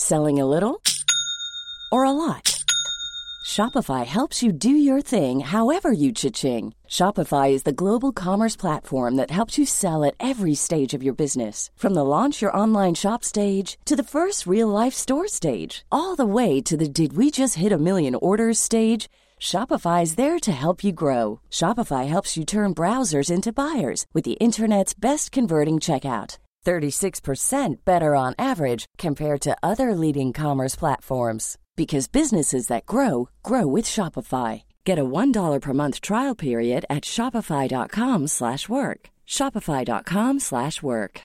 Selling a little or a lot? Shopify helps you do your thing however you cha-ching. Shopify is the global commerce platform that helps you sell at every stage of your business. From the launch your online shop stage to the first real-life store stage, all the way to the did we just hit a million orders stage. Shopify is there to help you grow. Shopify helps you turn browsers into buyers with the internet's best converting checkout. 36% better on average compared to other leading commerce platforms. Because businesses that grow, grow with Shopify. Get a $1 per month trial period at shopify.com/work. Shopify.com/work.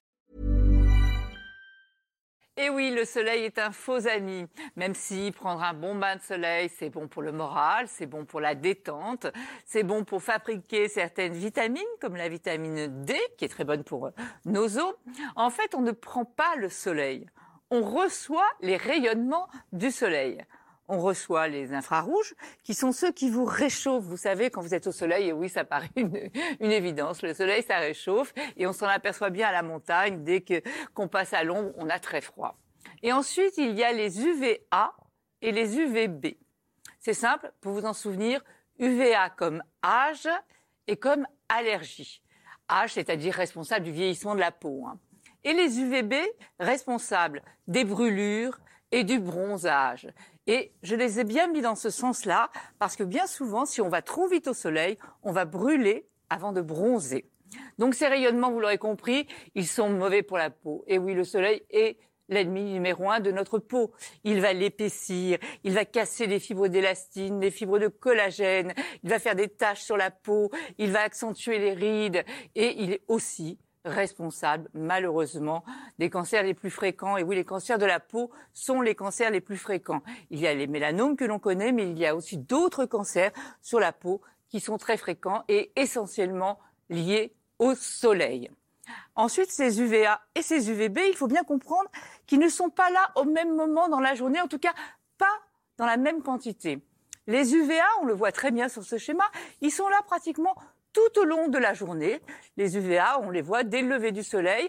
Et oui, le soleil est un faux ami. Même si prendre un bon bain de soleil, c'est bon pour le moral, c'est bon pour la détente, c'est bon pour fabriquer certaines vitamines, comme la vitamine D, qui est très bonne pour nos os. En fait, on ne prend pas le soleil. On reçoit les rayonnements du soleil. On reçoit les infrarouges, qui sont ceux qui vous réchauffent. Vous savez, quand vous êtes au soleil, et oui, ça paraît une évidence, le soleil, ça réchauffe, et on s'en aperçoit bien à la montagne. Dès qu'on passe à l'ombre, on a très froid. Et ensuite, il y a les UVA et les UVB. C'est simple, pour vous en souvenir, UVA comme âge et comme allergie. Âge, c'est-à-dire responsable du vieillissement de la peau, hein. Et les UVB, responsables des brûlures et du bronzage. Et je les ai bien mis dans ce sens-là, parce que bien souvent, si on va trop vite au soleil, on va brûler avant de bronzer. Donc ces rayonnements, vous l'aurez compris, ils sont mauvais pour la peau. Et oui, le soleil est l'ennemi numéro 1 de notre peau. Il va l'épaissir, il va casser les fibres d'élastine, les fibres de collagène, il va faire des taches sur la peau, il va accentuer les rides, et il est aussi responsable, malheureusement, des cancers les plus fréquents. Et oui, les cancers de la peau sont les cancers les plus fréquents. Il y a les mélanomes que l'on connaît, mais il y a aussi d'autres cancers sur la peau qui sont très fréquents et essentiellement liés au soleil. Ensuite, ces UVA et ces UVB, il faut bien comprendre qu'ils ne sont pas là au même moment dans la journée, en tout cas pas dans la même quantité. Les UVA, on le voit très bien sur ce schéma, ils sont là pratiquement tout au long de la journée. Les UVA, on les voit dès le lever du soleil,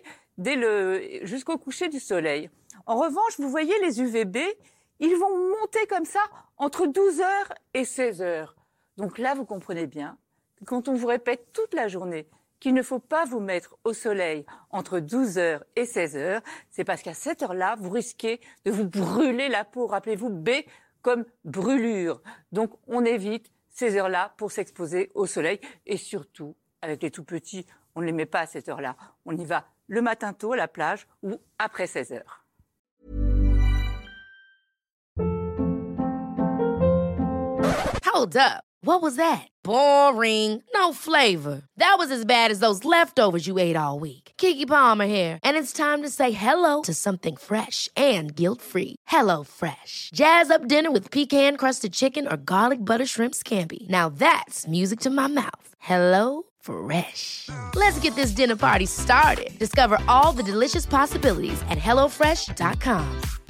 jusqu'au coucher du soleil. En revanche, vous voyez les UVB, ils vont monter comme ça entre 12h et 16h. Donc là, vous comprenez bien que quand on vous répète toute la journée qu'il ne faut pas vous mettre au soleil entre 12h et 16h, c'est parce qu'à cette heure-là, vous risquez de vous brûler la peau. Rappelez-vous, B comme brûlure. Donc on évite ces heures-là pour s'exposer au soleil. Et surtout, avec les tout petits, on ne les met pas à cette heure-là. On y va le matin tôt à la plage ou après 16h. Hold up. What was that? Boring. No flavor. That was as bad as those leftovers you ate all week. Keke Palmer here. And it's time to say hello to something fresh and guilt-free. Hello Fresh. Jazz up dinner with pecan-crusted chicken or garlic butter shrimp scampi. Now that's music to my mouth. Hello Fresh. Let's get this dinner party started. Discover all the delicious possibilities at HelloFresh.com.